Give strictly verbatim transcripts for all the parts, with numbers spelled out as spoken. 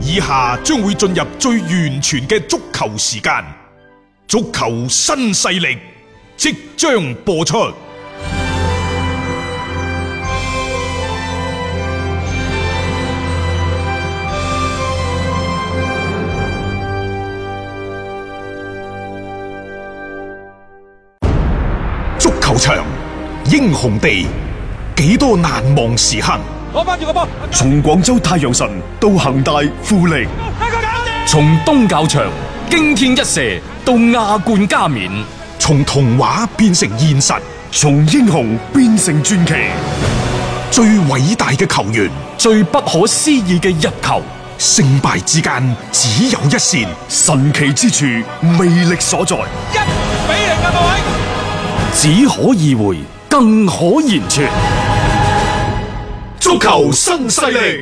以下將會進入最完全嘅足球時間，足球新勢力即將播出。足球場，英雄地，幾多難忘時刻。 攞翻住個波， 從廣州太陽神到恒大富力， 從東較場驚天一射到亞冠加冕， 從童話變成現實， 從英雄變成傳奇。 最偉大嘅球員， 最不可思議嘅入球， 勝敗之間只有一線， 神奇之處魅力所在。 一比零嘅各位， 只可意會，更可言傳。 足球新勢力，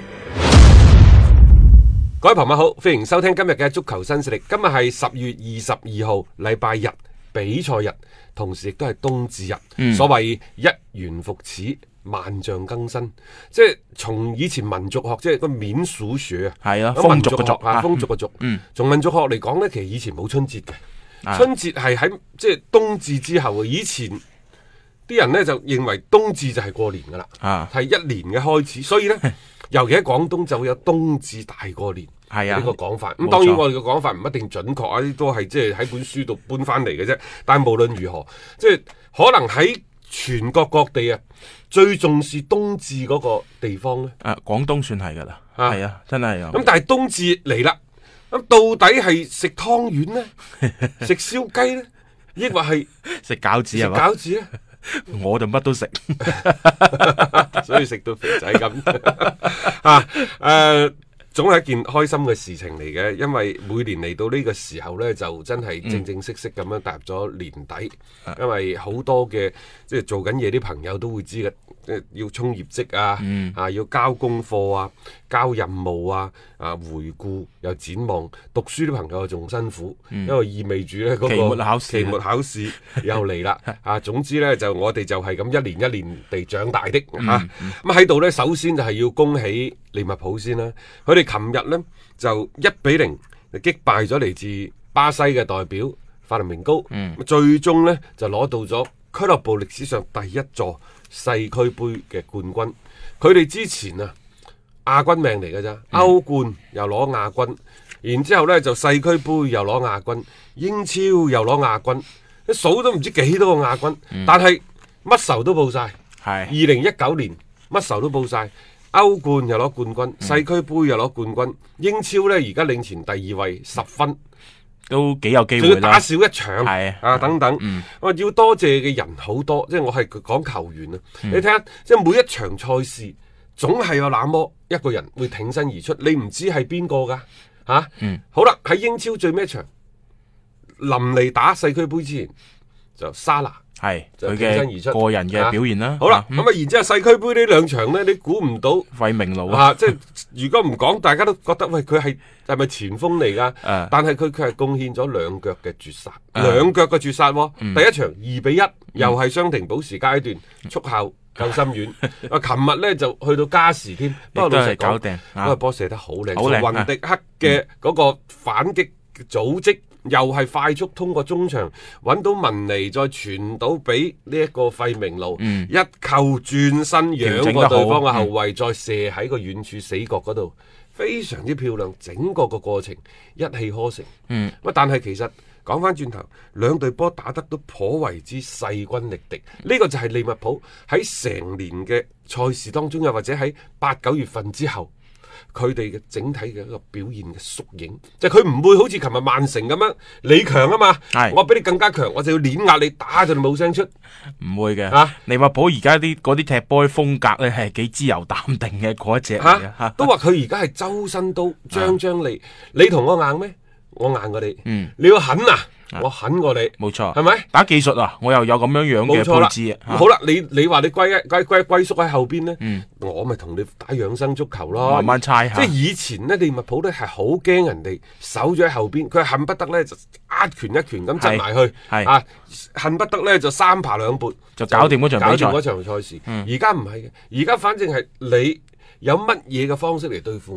各位朋友好，歡迎收聽今日嘅足球新勢力。今日係十月二十二號，禮拜日，比賽日，同時亦都係冬至日。嗯、所謂一元復始，萬象更新，即係從以前民族學，即係個免數學啊， 係啊， 民族學啊，風俗嘅族。 嗯， 從民族學嚟講呢，其實以前冇春節嘅，啊、春節係喺即係冬至之後。以前啲人呢就認為冬至就係過年噶啦，係、啊、一年嘅開始，所以呢，尤其喺廣東就會有冬至大過年係啊呢個講法。咁、啊、當然我哋嘅講法唔一定準確啊，啲都係即係喺本書度搬翻嚟嘅啫。但係無論如何，即係可能喺全國各地啊，最重視冬至嗰個地方呢， 啊，廣東算係噶啦，係啊，真係啊。 咁但係冬至嚟啦，咁到底係食湯圓呢，食燒雞呢，抑或係食餃子係嘛？ 餃子呢？ 我就乜都食， 所以食到肥仔咁啊！誒、呃，總係一件開心嘅事情嚟嘅，因為每年嚟到呢個時候呢，就真係正正式式咁樣踏入咗年底，嗯、因為好多嘅即係做緊嘢啲朋友都會知嘅，即係要衝業績啊，嗯、啊要交功課啊，交任務啊，啊回顧又展望，讀書啲朋友仲辛苦，嗯、因為意味住呢嗰個期末考試， 期末考試又嚟啦。啊，總之呢，就我哋就係咁一年一年地長大的吓。咁喺度呢，首先就係要恭喜利物浦先啦。佢哋琴日呢，就一比零擊敗咗嚟自巴西嘅代表法林明高，嗯、最終呢，就攞到咗俱樂部歷史上第一座世俱杯嘅冠軍。佢哋之前啊亞軍命嚟嘅咋，歐冠又攞亞軍，然之後呢就世俱杯又攞亞軍，英超又攞亞軍，一數都唔知幾多個亞軍，嗯、但係乜仇都報晒。係二零一九年乜仇都報晒，歐冠又攞冠軍，嗯、世俱杯又攞冠軍，英超呢而家領前第二位十分。 都幾有機會啦， 仲要打少一場， 係啊等等， 嗯、 我要多謝嘅人好多，即係我係講球員啊，嗯、你睇下，即係每一場賽事，總係有那麼一個人會挺身而出，你唔知係邊個噶，吓、啊，嗯、好啦，喺英超最尾一場，臨嚟打世俱杯之前，就沙拿。 係佢嘅個人嘅表現啦、啊。 好啦，咁啊，然之後世俱杯呢兩場呢，你估唔到費明路啊！即係如果唔講，大家都覺得喂，佢係係咪前鋒嚟噶？啊、但係佢佢係貢獻咗兩腳嘅絕殺，兩腳嘅絕殺、哦。嗯、第一場二比一、嗯，又係傷停補時階段，速效救心丸。啊，琴日呢就去到加時添，不過老實講，嗰個波射得好靚，雲迪克嘅嗰個反擊組織。又係快速通過中場揾到文尼，再傳到俾呢一個費明路，嗯、一扣轉身仰過對方嘅後衛，嗯、再射喺個遠處死角嗰度，非常之漂亮。整個個過程一氣呵成。嗯，但係其實講翻轉頭，兩隊波打得都頗為之勢均力敵。呢、這個就係利物浦喺成年嘅賽事當中，又或者喺八九月份之後。佢哋嘅整體嘅一個表現嘅縮影，就係佢唔會好似琴日曼城咁樣，你強啊嘛，是我比你更加強，我就要碾壓你，打就冇聲出， 唔會嘅。啊，利物浦而家啲嗰啲踢波風格咧係幾自由淡定嘅嗰一隻嚟嘅， 啊、都話佢而家係周身刀，張張利，啊、你同我硬咩？我硬過你，嗯、你要狠啊！我狠過你， 冇錯， 係咪？ 打技術啊，我又有咁樣樣嘅配置啊。 好啦，你你話你歸一歸歸歸宿喺後邊咧，嗯、我咪同你打養生足球咯， 慢慢猜下。 即係以前咧，利物浦咧係好驚人哋守咗喺後邊，佢恨不得咧就一拳一拳咁震埋去，啊，恨不得咧就三爬兩撥就搞掂嗰場比賽， 搞掂嗰場賽事。而家唔係嘅，而家反正係你有乜嘢嘅方式嚟對付我。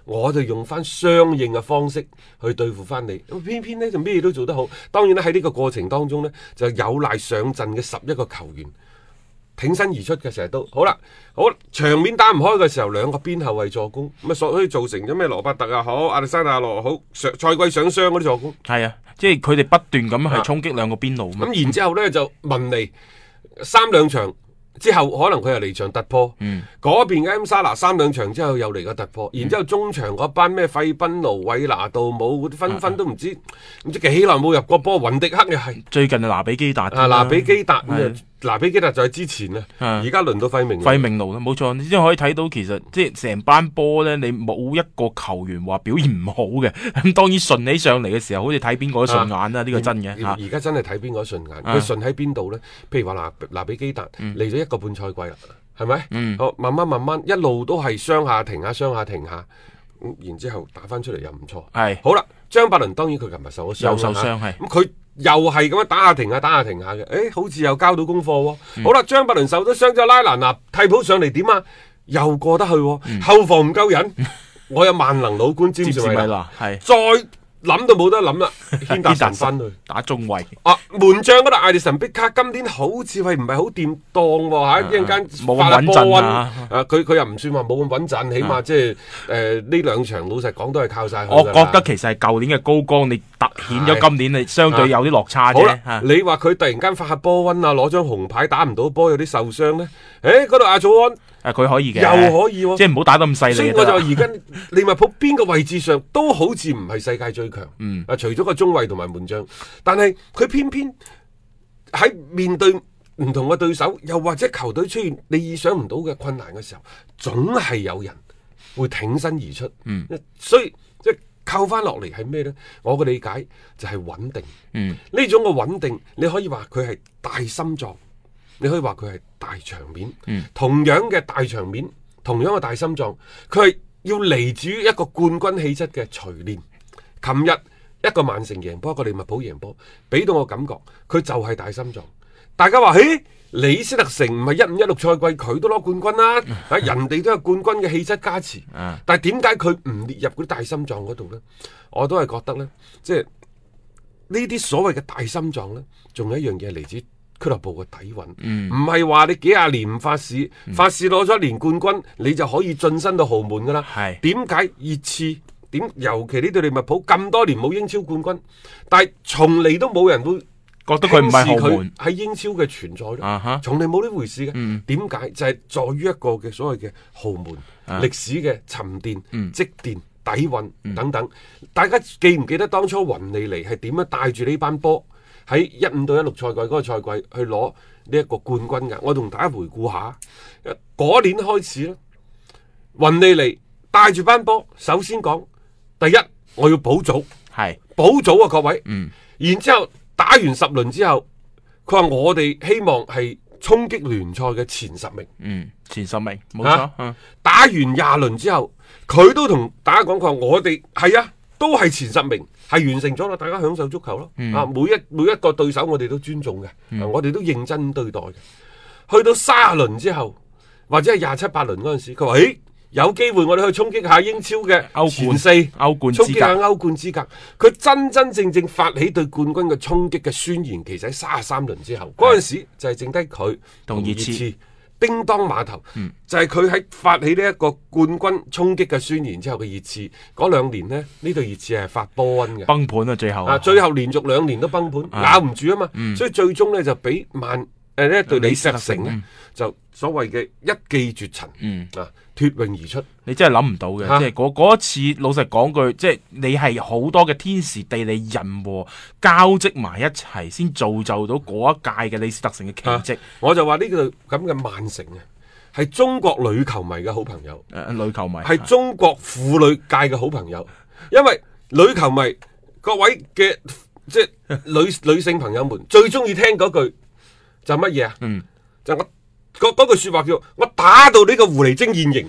我就用翻相應嘅方式去對付翻你。咁偏偏呢，就咩都做得好。當然咧喺呢個過程當中呢，就有賴上陣嘅十一個球員挺身而出嘅，成日都好啦。好場面打唔開嘅時候，兩個邊後衛助攻，咁啊所以造成咗咩羅伯特啊好，亞歷山大羅好，上賽季上雙嗰啲助攻。 係啊，即係佢哋不斷咁去衝擊兩個邊路。咁、 啊、然之後呢，就文尼三兩場之後，可能佢又嚟場突破。嗰、嗯、邊嘅 M 沙拿三兩場之後又嚟個突破。嗯、然之後中場嗰班咩費賓奴、韋拿杜姆，紛紛都唔知唔、啊、知幾耐冇入過波。雲迪克又係最近啊，拿比基達啊，拿比基達嗱，比基達就係之前啊，而家輪到費明費明奴啦，冇錯。你先可以睇到，其實即係成班波咧，你冇一個球員話表現唔好嘅。咁當然順起上嚟嘅時候，好似睇邊個都順眼啦，呢、啊、個真嘅。 而家真係睇邊個都順眼。佢順喺邊度咧？譬如話嗱，嗱比基達嚟咗一個半賽季啦，係咪？嗯，好，慢慢慢慢一路都係雙下停下，雙下停下。咁然之後打翻出嚟又唔錯。係好啦，張伯倫當然佢琴日受咗傷，又受傷係。咁佢。又係咁樣打下停下打下停下嘅，誒，好似又交到功課喎、哦嗯。好啦，張伯倫受咗傷之後，拉蘭納替補上嚟點啊？又過得去、哦嗯，後防唔夠人，我有萬能老官詹士米拿，係再諗都冇得諗啦，軒達臣翻去打中衛。啊，門將嗰度艾利臣碧卡今年好似係唔係好掂當喎嚇，一陣間冇咁穩陣啊！佢佢又唔算話冇咁穩陣，起碼即係誒呢兩場老實講都係靠晒佢。我覺得其實係舊年嘅高光，你突顯咗今年你相對有啲落差啫。好啦，你話佢突然間發下波瘟啊，攞張紅牌打唔到波，有啲受傷咧？誒，嗰度阿祖安。誒、啊，佢可以嘅，又可以、哦，即係唔好打得咁犀利。所以我就話而家利物浦邊個位置上都好似唔係世界最強，嗯，啊，除咗個中衛同埋門將，但係佢偏偏喺面對唔同嘅對手，又或者球隊出現你意想唔到嘅困難嘅時候，總係有人會挺身而出，嗯，所以即係扣翻落嚟係咩咧？我嘅理解就係穩定，嗯，呢種嘅穩定，你可以話佢係大心臟。你可以話佢係大場面，嗯、同樣嘅大場面，同樣嘅大心臟，佢係要嚟自於一個冠軍氣質嘅錘煉。琴日一個曼城贏波，一個利物浦贏波，俾到我感覺，佢就係大心臟。大家話，嘿，李斯特城唔係一五一六賽季佢都攞冠軍啦，啊，嗯、人哋都有冠軍嘅氣質加持，嗯、但係點解佢唔列入嗰啲大心臟嗰度呢？我都係覺得呢，即係呢啲所謂嘅大心臟呢，仲有一樣嘢嚟自俱樂部嘅底蘊，唔係話你幾廿年唔發市，嗯、發市攞咗一年冠軍，你就可以晉身到豪門噶啦。係點解熱刺點？尤其呢隊利物浦咁多年冇英超冠軍，但係從嚟都冇人會覺得佢唔係豪門喺英超嘅存在咯。啊、從嚟冇呢回事嘅。點、嗯、解就係、是、在於一個嘅所謂嘅豪門歷、啊、史嘅沉澱、嗯、積澱、底蘊等等。嗯、大家記唔記得當初雲尼尼係點樣帶住呢班波？喺一五到一六賽季嗰個賽季去攞呢一個冠軍㗎，我同大家回顧下，嗰年開始咧，雲尼尼帶住班波，首先講第一，我要保組，係保組啊各位，嗯，然之後打完十輪之後，佢話我哋希望係衝擊聯賽嘅前十名，嗯，前十名冇錯，啊嗯、打完廿輪之後，佢都同大家講，佢話我哋係啊，都係前十名。係完成咗啦，大家享受足球咯。嗯、啊，每一每一個對手我哋都尊重嘅、嗯啊，我哋都認真對待嘅。去到卅輪之後，或者係廿七八輪嗰陣時，佢話：，誒，有機會我哋去衝擊下英超嘅前四歐冠，衝擊下歐冠資格。佢真真正正發起對冠軍嘅衝擊嘅宣言，其實喺卅三輪之後，嗰陣時就係剩低佢同熱刺。叮當碼頭，嗯、就係佢喺發起呢一個冠軍衝擊嘅宣言之後嘅熱刺，嗰兩年呢，呢隊熱刺係發波瘟嘅崩盤啊！最後啊，最後連續兩年都崩盤，咬唔住啊嘛，嗯、所以最終呢，就俾曼誒呢一隊李斯特城呢，嗯、就所謂嘅一騎絕塵，嗯、啊脫穎而出。你真係諗唔到嘅，即係嗰嗰一次，老實講句，即係你係好多嘅天時地利人和交織埋一齊，先造就到嗰一屆嘅李斯特城嘅奇蹟。我就話呢個咁嘅曼城啊，係中國女球迷嘅好朋友，誒、呃，女球迷係中國婦女界嘅好朋友，因為女球迷各位嘅即係女女性朋友們最中意聽嗰句就乜嘢啊？嗯，就我嗰嗰句說話叫我打到呢個狐狸精現形。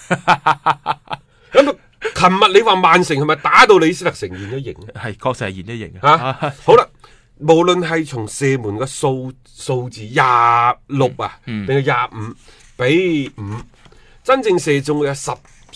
咁啊！琴日你話曼城係咪打到李斯特城現咗形咧？係，確實係現咗形啊！好啦，無論係從射門嘅數數字廿六啊，定係廿五比五，真正射中嘅十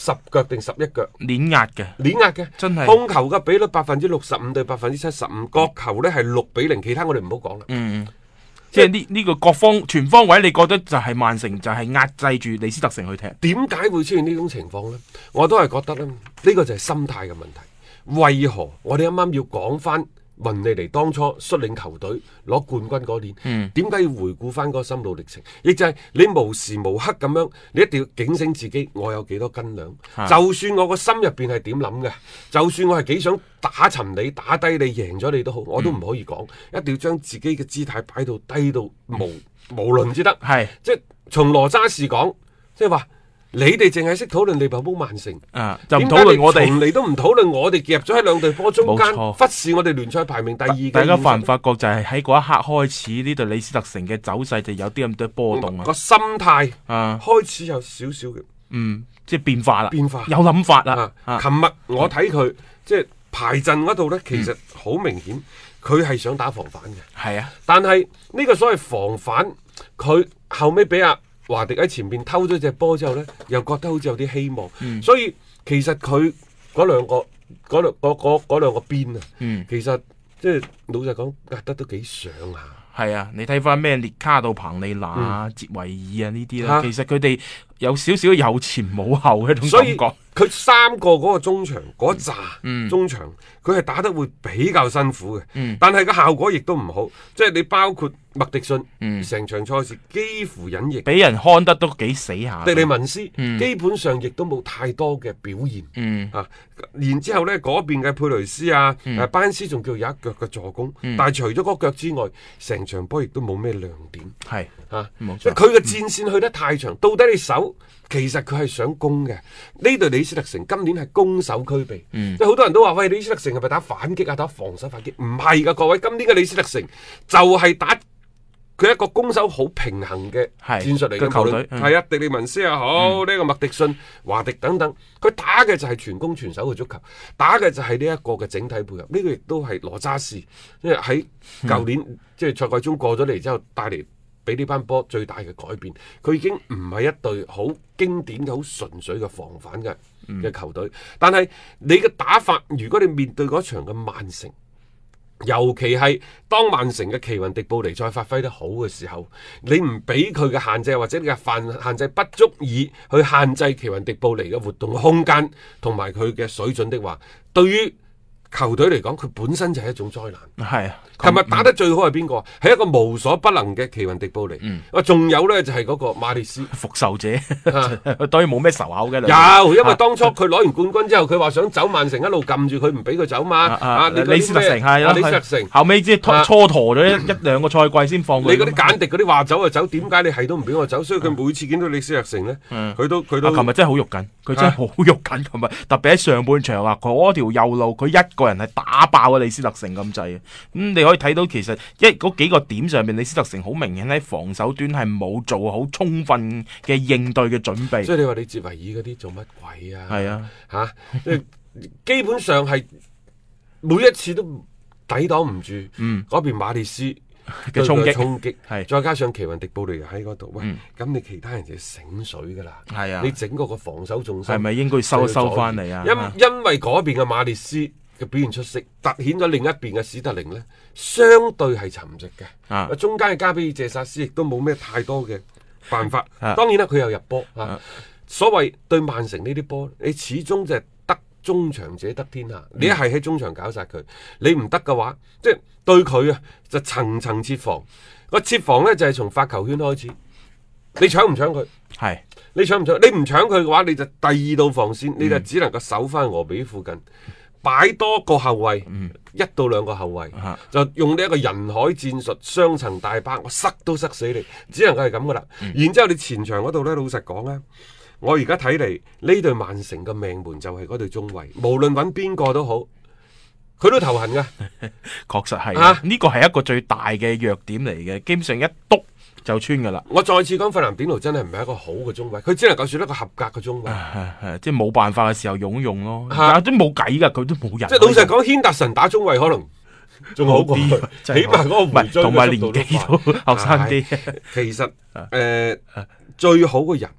十腳定十一腳， 碾壓嘅， 碾壓嘅， 真係控球嘅比率百分之六十五對百分之七十五，角球呢係六比零，其他我哋唔好講啦。 嗯，即係呢呢個各方全方位，你覺得就係曼城就係壓制住李斯特城去踢？ 點解會出現呢種情況呢？我都係覺得咧，呢、呢個就係心態嘅問題。為何我哋啱啱要講翻雲利尼當初率領球隊攞冠軍嗰年？點解、嗯、要回顧翻嗰個心路歷程？亦就係你無時無刻咁樣，你一定要警醒自己，我有幾多斤兩？啊、就算我個心入邊係點諗嘅，就算我係幾想打沉你、打低你、贏咗你都好，我都唔可以講，嗯、一定要將自己嘅姿態擺到低到無無論之得。係是即係從羅渣士講，即係話。你哋淨係識討論利物浦曼城， 啊，就唔討論我哋， 從嚟都唔討論我哋夾咗喺兩隊波中間，錯忽視我哋聯賽排名第二嘅。 大家發唔發覺就係喺嗰一刻開始，呢隊李斯特城嘅走勢就有啲咁多波動啊， 個心態啊開始有少少嘅， 嗯，即係變化啦， 變化有諗法啦。 琴日我睇佢即係排陣嗰度咧，其實好明顯佢係想打防反嘅，係啊，但係呢個所謂防反，佢後尾俾阿華迪喺前面偷咗隻波之後呢，又覺得好似有啲希望，嗯、所以其實佢嗰兩個嗰兩嗰嗰嗰兩個邊啊，嗯、其實即係老實講壓得都幾上下。 係啊，你睇翻咩列卡到彭利拿啊、嗯、捷維爾啊呢啲啦，其實佢哋有少少有前冇後嘅一種感覺。 佢三個嗰個中場嗰扎、嗯、中場，佢係打得會比較辛苦嘅，嗯、但係個效果亦都唔好。即係你包括麥迪遜，成、嗯、場賽事幾乎隱形， 俾人看得都幾死下。 迪利文斯、嗯、基本上亦都冇太多嘅表現。嗯、啊，然之後咧嗰邊嘅佩雷斯啊，嗯、啊班斯仲叫有一腳嘅助攻，嗯、但係除咗嗰腳之外，成場波亦都冇咩亮點。係啊，即係佢嘅戰線去得太長，嗯、到底你守？其實佢係想攻嘅，呢隊李斯特城今年係攻守俱備，即係好多人都話喂，李斯特城係咪打反擊啊？打防守反擊？唔係噶，各位，今年嘅李斯特城就係打佢一個攻守好平衡嘅戰術嚟嘅球隊，係啊，迪利文斯又好，呢、嗯、個麥迪遜、華迪等等，佢打嘅就係全攻全守嘅足球，打嘅就係呢一個嘅整體配合，呢、這個亦都係羅渣士，因為喺舊年、嗯、即係賽季中過咗嚟之後帶嚟。俾呢班波最大嘅改變，佢已經唔係一隊好經典嘅好純粹嘅防反嘅嘅球隊，嗯、但係你嘅打法，如果你面對嗰場嘅曼城，尤其係當曼城嘅奇雲迪布尼再發揮得好嘅時候，你唔俾佢嘅限制，或者你嘅限限制不足以去限制奇雲迪布尼嘅活動空間同埋佢嘅水準的話，對於球隊嚟講，佢本身就係一種災難。係啊，琴日打得最好係邊個？係、嗯、一個無所不能嘅奇雲迪布尼。嗯，仲有呢，就係、是、嗰個馬列斯復仇者，當然冇咩仇口嘅。 有，因為當初佢攞完冠軍之後，佢話想走曼城，一路撳住佢唔俾佢走嘛。啊，啊你李斯特城係咯，李斯特城後尾即係蹉跎咗一一兩個賽季先放佢。 你嗰啲簡迪嗰啲話走就走，點解你係都唔俾我走？所以佢每次見到李斯特城呢，佢、嗯、都佢都。 琴日真係好肉緊，佢真係好肉緊。琴日特別喺上半場啊，嗰條右路佢一個人係打爆啊李斯特城咁滯。咁、嗯、你可以睇到其實一嗰幾個點上面，李斯特城好明顯喺防守端係冇做好充分嘅應對嘅準備。 所以你話你哲維爾嗰啲做乜鬼啊？係啊，吓、啊，基本上係每一次都抵擋唔住。嗯，嗰邊馬列斯嘅衝擊，衝擊係再加上奇雲迪布尼喺嗰度，喂，咁、嗯、你其他人就醒水噶啦。係啊，你整個個防守重心係咪應該收一收翻嚟啊？因因為嗰邊嘅馬列斯嘅表現出色，凸顯咗另一邊嘅史特靈呢，相對係沉寂嘅。啊，中間嘅加比爾謝薩斯亦都冇咩太多嘅辦法。啊、當然啦，佢又入波。啊，啊所謂對曼城呢啲波，你始終就係得中場者得天下。嗯、你一係喺中場搞殺佢，你唔得嘅話，即係對佢啊，就層層設防。個設防呢，就係、是、從發球圈開始，你搶唔搶佢？係是你搶唔搶？你唔搶佢嘅話，你就第二道防線，嗯、你就只能夠守翻俄比附近。擺多個後衛，嗯、一到兩個後衛，啊、就用呢一個人海戰術，雙層大巴，我塞都塞死你，只能夠係咁噶啦。嗯、然之後你前場嗰度呢，老實講咧，我而家睇嚟呢隊曼城嘅命門就係嗰隊中衛，無論揾邊個都好，佢都頭痕噶。 確實係，呢個係一個最大嘅弱點嚟嘅，基本上一篤就穿噶啦！ 我再次講，費南典奴真係唔係一個好嘅中衛，佢只能夠算一個合格嘅中衛， 啊啊、即係冇辦法嘅時候用用咯，啊、都冇計噶，佢都冇人。 即係老實講，軒達臣打中衛可能仲好過，起碼嗰個回追嘅速度都快，同埋年紀都後生啲。其實誒、呃，最好嘅人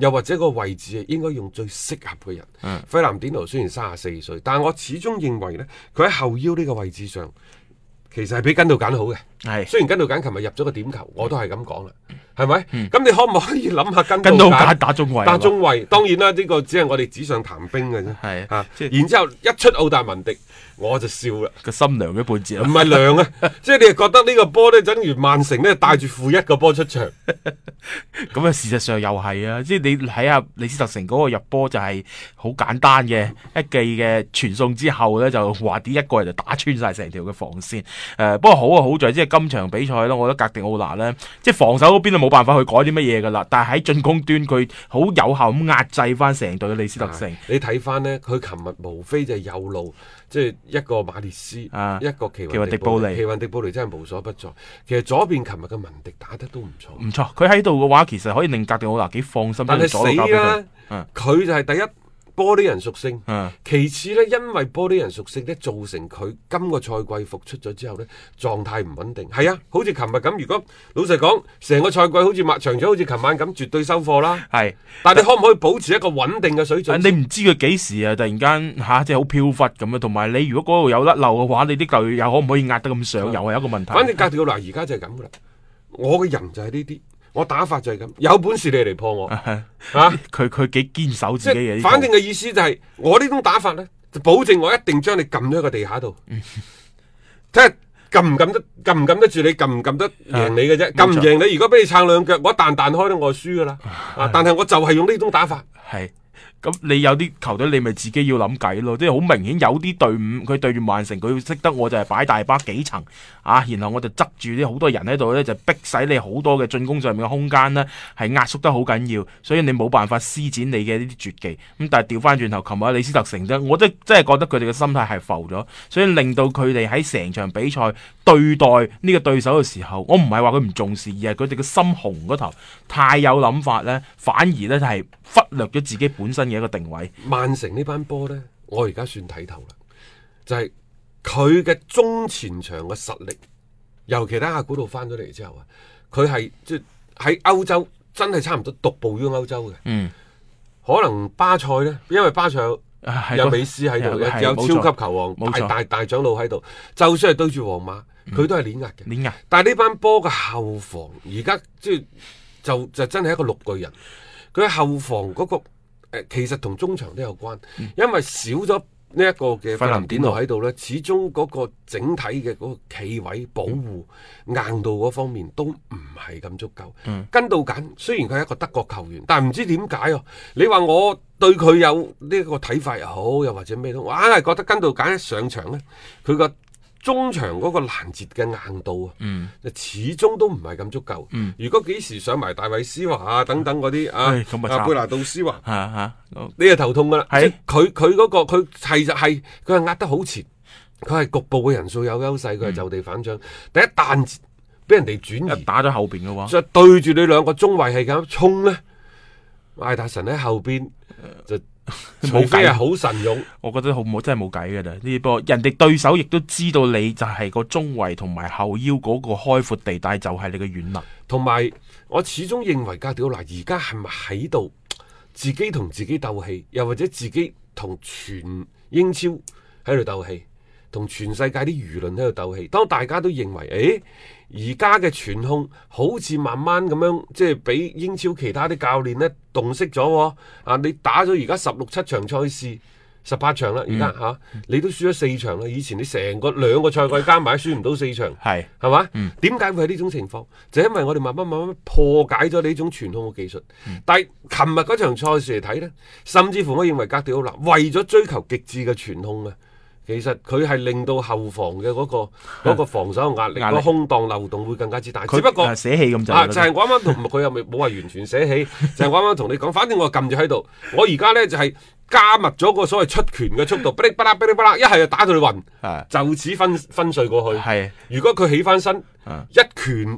又或者個位置應該用最適合嘅人。 嗯、 費南甸奴雖然三十四歲，但係我始終認為呢，佢喺後腰呢個位置上，其實係比根度簡好嘅。 係， 雖然根度簡琴日入咗個點球，我都係咁講啦，係咪？咁、 嗯、 你可唔可以諗下根度度簡打中衛？ 打中衛，當然啦，呢、這個只係我哋紙上談兵嘅啫。 係啊，然之後一出奧達文迪，我就笑啦， 個心涼咗半截。 唔係涼啊，即係你係覺得呢個波咧，等於曼城咧帶住負一個波出場。 咁啊，事實上又係啊，即係你睇下李斯特城嗰個入波就係好簡單嘅一記嘅傳送之後咧，就話啲一個人就打穿晒成條嘅防線。誒、呃，不過好啊，好在即係今場比賽咧，我覺得格迪奧拿咧，即係防守嗰邊都冇辦法去改啲乜嘢噶啦，但係喺進攻端佢好有效咁壓制翻成隊嘅李斯特城。 你睇翻呢，佢琴日無非就係右路，即係一個馬列斯， 啊、 一個奇雲迪雲迪布尼， 尼奇雲迪布尼真係無所不在。其實左邊琴日嘅文迪打得都唔錯， 唔錯。佢喺度嘅話，其實可以令格迪奧拿幾放心。 但係死啦，佢、 嗯、 就係第一。玻璃人屬性， 嗯、 其次呢，因為玻璃人屬性呢，造成佢今個賽季復出咗之後呢，狀態唔穩定。係啊，好似琴日咁。如果老實講，成個賽季好似麥場咗，好似琴晚咁，絕對收貨啦。 係， 但係你可唔可以保持一個穩定嘅水準？ 你唔知佢幾時啊，突然間吓、啊，即係好飄忽咁啊。同埋你如果嗰度有甩漏嘅話，你啲球又可唔可以壓得咁上？嗯、又係一個問題。 反正格調嗱，而家就係咁噶啦。我嘅人就係呢啲。我打法就係咁，有本事你嚟破我啊！ 佢佢幾堅守自己嘅， 反正嘅意思就係、是、我呢種打法咧，就保證我一定將你撳咗喺個地下度，睇下撳唔撳得，撳唔撳得住你，撳唔撳得贏你嘅啫。撳唔贏你，如果俾你撐兩腳，我一彈彈開咧，我就輸噶啦。啊！但係我就係用呢種打法。 係。咁你有啲球隊你咪自己要諗計咯，即係好明顯有啲隊伍佢對住曼城佢識得我就係擺大巴幾層啊，然後我就執住啲好多人喺度咧，就逼使你好多嘅進攻上面嘅空間呢係壓縮得好緊要，所以你冇辦法施展你嘅呢啲絕技。咁但係調翻轉頭，琴日李斯特城啫，我都真係覺得佢哋嘅心態係浮咗，所以令到佢哋喺成場比賽對待呢個對手嘅時候，我唔係話佢唔重視，而係佢哋嘅心紅嗰頭太有諗法呢，反而呢係忽略咗自己本身嘅一個定位。 曼城呢班波呢，我而家算睇透啦，就係佢嘅中前場嘅實力，尤其喺阿古度翻咗嚟之後啊，佢係即係喺歐洲真係差唔多獨步於歐洲嘅。嗯，可能巴塞呢，因為巴塞有， 啊、 有美斯喺度，有，有超級球王大大大，大長老喺度，就算係對住皇馬，佢、嗯、都係碾壓嘅。碾壓。但係呢班波嘅後防而家即係就就真係一個綠巨人。佢喺後防嗰、那個誒、呃，其實同中場都有關，嗯、因為少咗呢一個嘅費南甸奴喺度咧，始終嗰個整體嘅嗰個企位保護、嗯、硬度嗰方面都唔係咁足夠。嗯、跟到緊，雖然佢係一個德國球員，但係唔知點解哦。你話我對佢有呢個睇法又好，又或者咩都，我硬係覺得跟到緊一上場咧，佢個中場嗰個攔截嘅硬度啊，嗯、始終都唔係咁足夠。嗯、如果幾時上埋大衛斯華啊等等嗰啲啊，阿貝拿杜斯華，啊啊、你係頭痛噶啦。佢佢嗰個佢係就係佢係壓得好前，佢係局部嘅人數有優勢，佢係就地反將。嗯、第一彈俾人哋轉移打咗後邊嘅話， 就對住你兩個中衛係咁衝咧，艾達臣喺後邊就。冇計啊，好神勇， 我覺得好冇真係冇計噶啦。呢波人哋對手亦都知道你就係個中衛同埋後腰嗰個開闊地帶就係你嘅軟肋。 同埋我始終認為哥迪奧拿而家係咪喺度自己同自己鬥氣，又或者自己同全英超喺度鬥氣，同全世界啲輿論喺度鬥氣。當大家都認為誒而家嘅傳控好似慢慢咁樣，即係俾英超其他啲教練咧洞悉咗啊！你打咗而家十六七場賽事，十八場啦，而家吓你都輸咗四場啦。以前你成個兩個賽季加埋輸唔到四場，係係嘛？點解、嗯、會係呢種情況？就因為我哋慢慢慢慢破解咗呢種傳控嘅技術。嗯、但係琴日嗰場賽事嚟睇咧，甚至乎我認為哥迪奧拿為咗追求極致嘅傳控啊！其實佢係令到後防嘅嗰、那個嗰、那個防守嘅壓力，個力空檔漏洞會更加之大。只不過捨棄咁就啊，就係、是、我啱啱同佢又冇話完全捨棄，就係我啱啱同你講，反正我撳住喺度，我而家咧就係、是、加密咗個所謂出拳嘅速度，噼哩啪啦噼哩啪啦，一係就打到你暈，就此分分碎過去。係，如果佢起翻身，一拳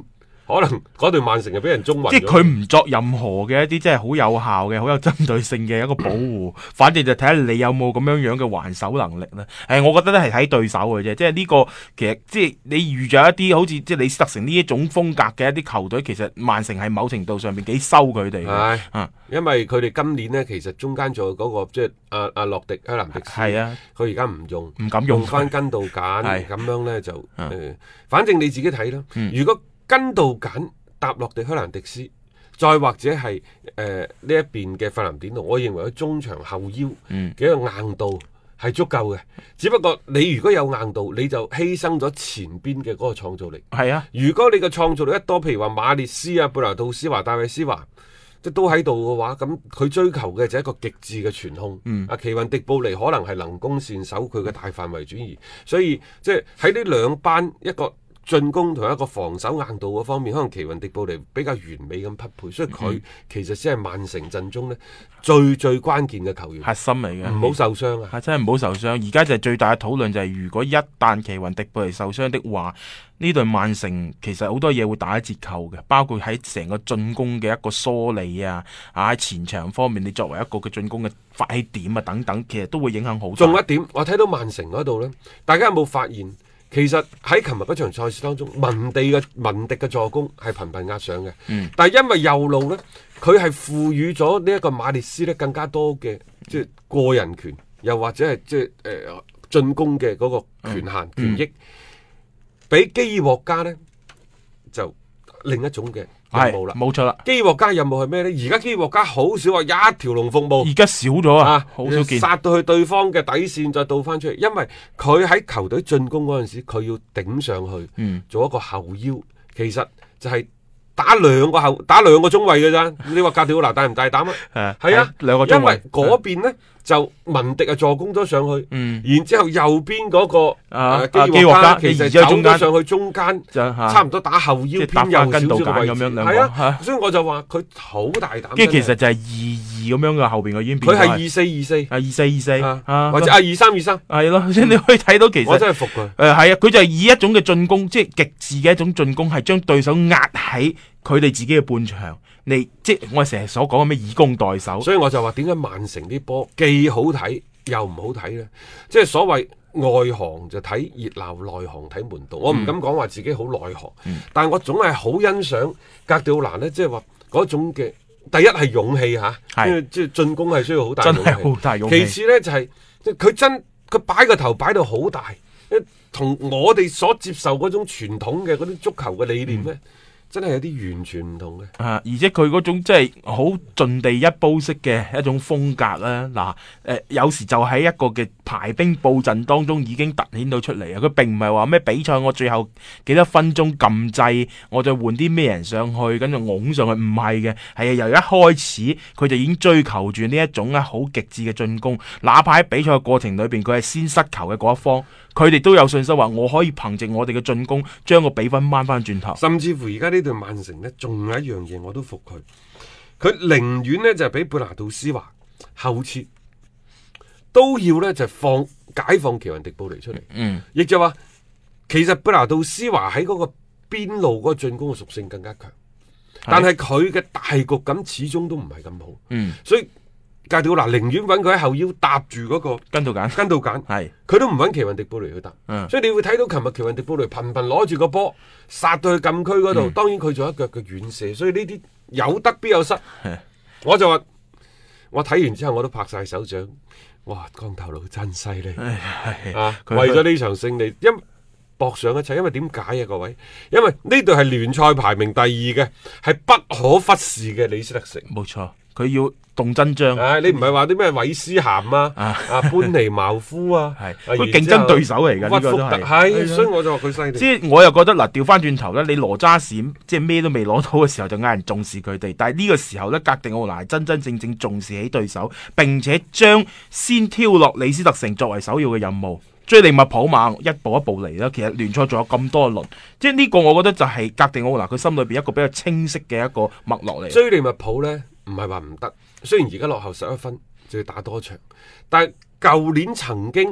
可能嗰隊曼城就俾人中暈咗。 即係佢唔作任何嘅一啲即係好有效嘅、好有針對性嘅一個保護，反正就睇下你有冇咁樣樣嘅還手能力啦。誒，我覺得咧係睇對手嘅啫，即係呢個其實即係你遇咗一啲好似即係李斯特城呢一種風格嘅一啲球隊，其實曼城係某程度上面幾收佢哋嘅。 係啊， 因為佢哋今年呢，其實中間仲有嗰個即係阿阿洛迪克蘭迪斯， 係啊， 佢而家唔用， 唔敢用翻根道簡， 係咁樣呢，就誒、 啊呃，反正你自己睇啦。 嗯、 如果根道簡搭洛迪克蘭迪斯，再或者係誒呢一邊嘅費南典奴，我認為佢中場後腰嘅一個硬度係足夠嘅。嗯、只不過你如果有硬度，你就犧牲咗前邊嘅嗰個創造力。係啊， 如果你嘅創造力一多，譬如話馬列斯啊、貝拿杜斯華、戴維斯華，即都喺度嘅話，咁佢追求嘅就係一個極致嘅傳控。嗯，阿奇雲迪布尼可能係能攻善守，佢嘅大範圍轉移，所以即係喺呢兩班一個進攻同一個防守硬度嗰方面，可能奇雲迪布尼比較完美咁匹配，所以佢其實先係曼城陣中呢最最關鍵嘅球員， 核心嚟嘅， 唔好受傷啊！ 係真係唔好受傷。而家就係最大嘅討論就係、是，如果一旦奇雲迪布尼受傷的話，呢隊曼城其實好多嘢會打折扣嘅，包括喺成個進攻嘅一個梳理啊，啊喺前場方面，你作為一個嘅進攻嘅發起點啊等等，其實都會影響好大。 仲有一點，我睇到曼城嗰度呢，大家有冇發現？其實喺琴日嗰場賽事當中，文地嘅文迪嘅助攻係頻頻壓上嘅，嗯、但係因為右路呢，佢係賦予咗呢一個馬列斯呢更加多嘅即係個人權，又或者係即係誒進攻嘅嗰個權限、嗯、權益，俾基爾獲加呢就另一種嘅任務啦， 冇錯啦。 基爾獲加任務係咩呢？而家基爾獲加好少話一條龍服務， 而家少咗啊，好少見， 殺到去對方嘅底線再倒翻出嚟，因為佢喺球隊進攻嗰陣時，佢要頂上去，嗯、做一個後腰，其實就係打兩個後打兩個中衛嘅咋？你話格迪奧拿大唔大膽啊？係啊，兩個中衛，因為嗰邊呢。就文迪啊助攻咗上去，嗯、然之後右邊嗰、那個啊基爾獲加其實走咗上去中間，差唔多打後腰偏右少少嘅位置，係啊，啊所以我就話佢好大膽。 跟住其實就係二二咁樣嘅後邊嘅已經變， 佢係二四二四， 二四二四，或者啊二三二三， 係咯，即係你可以睇到其實我真係服佢。 誒係啊，佢就係以一種嘅進攻，即係極致嘅一種進攻，係將對手壓喺佢哋自己嘅半場。你即係我哋成日所講嘅咩以攻代守， 所以我就話點解曼城啲波既好睇又唔好睇呢？即係所謂外行就睇熱鬧，內行睇門道。嗯、我唔敢講話自己好內行，嗯、但係我總係好欣賞格調蘭呢，即係話嗰種嘅第一係勇氣嚇，因為即係進攻係需要好大勇氣， 真係好大勇氣。 其次呢，就係佢真佢擺個頭擺到好大，同我哋所接受嗰種傳統嘅嗰啲足球嘅理念呢。嗯真係有啲完全唔同嘅， 啊！而且佢嗰種即係好盡地一煲式嘅一種風格啦。嗱、啊，誒、呃，有時就喺一個嘅排兵布陣當中已經凸顯到出嚟啊！佢並唔係話咩比賽我最後幾多分鐘撳掣，我再換啲咩人上去，跟住拱上去，唔係嘅，係由一開始佢就已經追求住呢一種咧好極致嘅進攻，哪怕喺比賽嘅過程裏邊佢係先失球嘅嗰一方，佢哋都有信心話我可以憑借我哋嘅進攻將個比分掹翻轉頭， 甚至乎而家呢隊曼城呢，仲有一樣嘢我都服佢，佢寧願呢就俾貝拿杜斯華後撤，都要呢就放解放奇雲迪布尼出嚟，嗯，亦就話其實貝拿杜斯華喺嗰個邊路嗰個進攻嘅屬性更加強，但係佢嘅大局感始終都唔係咁好，嗯，所以。格調嗱，寧願揾佢喺後腰搭住嗰個跟到揀， 跟到揀，係佢都唔揾奇雲迪布尼去搭，嗯、所以你會睇到琴日奇雲迪布尼頻頻攞住個波殺到去禁區嗰度，嗯、當然佢仲有一腳嘅遠射，所以呢啲有得必有失。嗯、我就話我睇完之後我都拍晒手掌，哇！光頭佬真犀利啊！為咗呢場勝利，因搏上一切，因為點解啊各位？因為呢隊係聯賽排名第二嘅，係不可忽視嘅李斯特城， 冇錯，佢要。動真章， 唉、啊！你唔係話啲咩韋斯咸啊、啊班尼茅夫啊， 係佢競爭對手嚟㗎，呢個都係， 係，所以我就話佢犀利。 即係我又覺得嗱，調翻轉頭咧，你羅渣士即係咩都未攞到嘅時候就嗌人重視佢哋，但係呢個時候咧，格迪奧拿真真正正重視起對手，並且將先挑落李斯特城作為首要嘅任務，追利物浦嘛，一步一步嚟啦。其實聯賽仲有咁多輪，即係呢個我覺得就係格迪奧拿佢心裏邊一個比較清晰嘅一個脈絡嚟。 追利物浦咧，唔係話唔得。雖然而家落後十一分，就要打多場，但係舊年曾經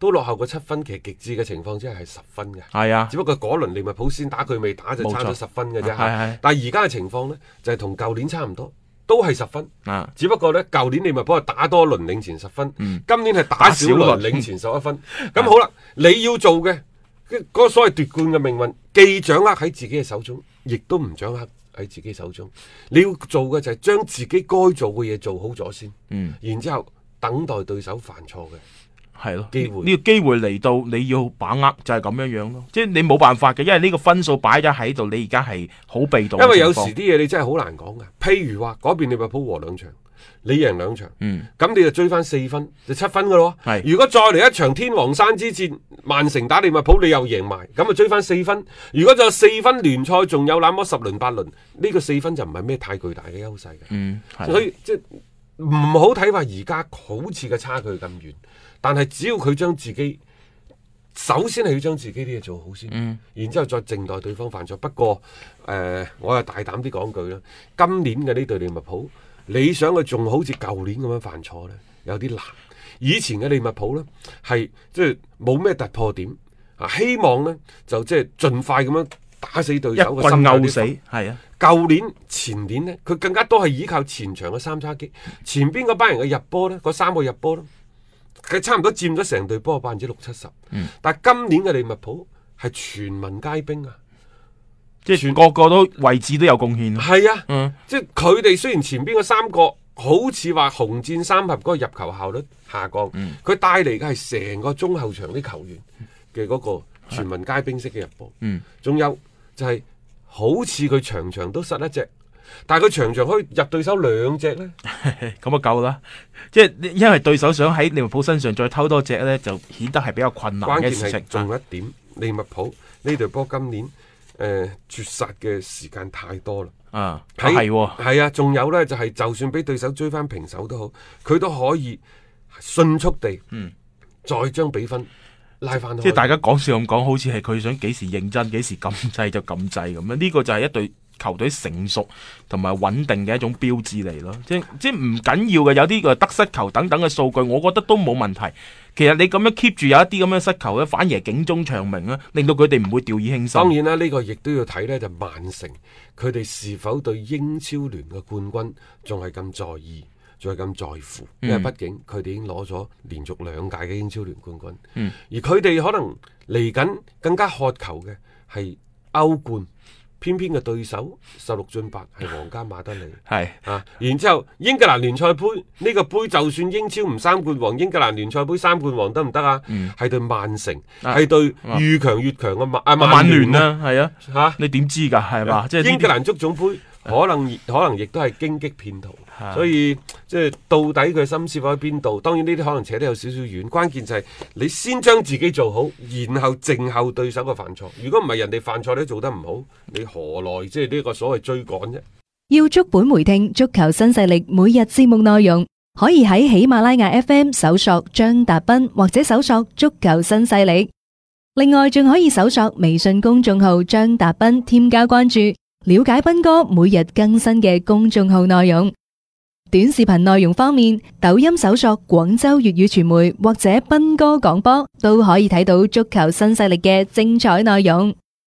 都落後個七分，其實極致嘅情況之下係十分嘅。 係啊， 只不過嗰輪利物浦先打佢未打就差咗十分嘅啫。 係但係而家嘅情況呢，就係同舊年差唔多。都係十分， 啊、 只不過呢，舊年利物浦係打多輪領前十分， 嗯、 今年係打少輪領前十一分。咁好啦，你要做嘅嗰、嗰個所謂奪冠嘅命運，既掌握喺自己嘅手中，亦都唔掌握喺自己手中。你要做嘅就係將自己該做嘅嘢做好咗先，嗯、然之後等待對手犯錯嘅。 係咯， 機會呢個機會嚟到，你要把握就係咁樣樣咯。即係你冇辦法嘅，因為呢個分數擺咗喺度，你而家係好被動。 因為有時啲嘢你真係好難講㗎。譬如話嗰邊利物浦和兩場，你贏兩場，咁、嗯、你就追翻四分，就七分㗎咯。係，如果再嚟一場天王山之戰，曼城打利物浦，你又贏埋，咁啊追翻四分。如果就四分聯賽，仲有那麼十輪八輪，呢、呢個四分就唔係咩太巨大嘅優勢嘅。嗯，所以即係唔好睇話而家好似個差距咁遠。但係只要佢將自己，首先係要將自己啲嘢做好先，嗯、然之後再靜待對方犯錯。不過，誒、呃，我又大膽啲講句啦，今年嘅呢隊利物浦，你想佢仲好似舊年咁樣犯錯呢，有啲難。以前嘅利物浦呢，係即係冇咩突破點，啊，希望呢，就即係盡快咁樣打死對手嘅心態啲。死係啊！舊年、前年呢，佢更加多係依靠前場嘅三叉戟，前邊嗰班人嘅入波呢，嗰三個入波呢。佢差唔多佔咗成隊波百分之六七十，嗯、但係今年嘅利物浦係全民皆兵啊！ 即係全個個都位置都有貢獻。 係啊，嗯、即係佢哋雖然前邊嗰三個好似話紅箭三俠嗰個入球效率下降，佢、嗯、帶嚟嘅係成個中後場啲球員嘅嗰個全民皆兵式嘅入波。仲、嗯、有就係、是、好似佢場場都失一隻。但係佢場場可以入對手兩隻呢， 咁啊夠啦！即係因為對手想喺利物浦身上再偷多隻呢，就顯得係比較困難嘅事情。關鍵係仲有一點，利物浦呢隊波今年誒、呃、絕殺嘅時間太多啦。啊，係係啊，仲有呢，就係、是、就算俾對手追翻平手都好，佢都可以迅速地嗯再將比分拉翻。 即係大家講笑咁講，好似係佢想幾時認真幾時禁制就禁制咁樣。呢、這個就係一隊球隊成熟同埋穩定嘅一種標誌嚟咯，即係即係唔緊要嘅，有啲個得失球等等嘅數據，我覺得都冇問題。其實你咁樣 keep 住有一啲咁樣失球咧，反而係警鐘長鳴啦，令到佢哋唔會掉以輕心。 當然啦，呢、這個亦都要睇呢，就曼城佢哋是否對英超聯嘅冠軍仲係咁在意，仲係咁在乎，嗯、因為畢竟佢哋已經攞咗連續兩屆嘅英超聯冠軍，嗯、而佢哋可能嚟緊更加渴求嘅係歐冠。偏偏嘅對手十六進八係皇家馬德里，係啊，然之後英格蘭聯賽杯呢、這個杯就算英超唔三冠王，英格蘭聯賽杯三冠王得唔得啊？係、嗯、對曼城，係、啊、對越強越強嘅曼啊曼聯啊，係啊，吓、啊、 你點知㗎？係嘛？即係英格蘭足總杯。可能可能亦都係荊棘騙徒，所以即係到底佢心思放喺邊度？當然呢啲可能扯得有少少遠，關鍵就係你先將自己做好，然後靜候對手嘅犯錯。如果唔係人哋犯錯你做得唔好，你何來即係呢個所謂追趕啫？ 要足本回聽足球新勢力每日節目內容，可以喺喜馬拉雅 F M 搜索張達斌或者搜索足球新勢力。另外仲可以搜索微信公眾號張達斌，添加關注。了解斌哥每日更新嘅公眾號內容，短視頻內容方面，抖音搜索廣州粵語傳媒或者斌哥廣播，都可以睇到足球新勢力嘅精彩內容。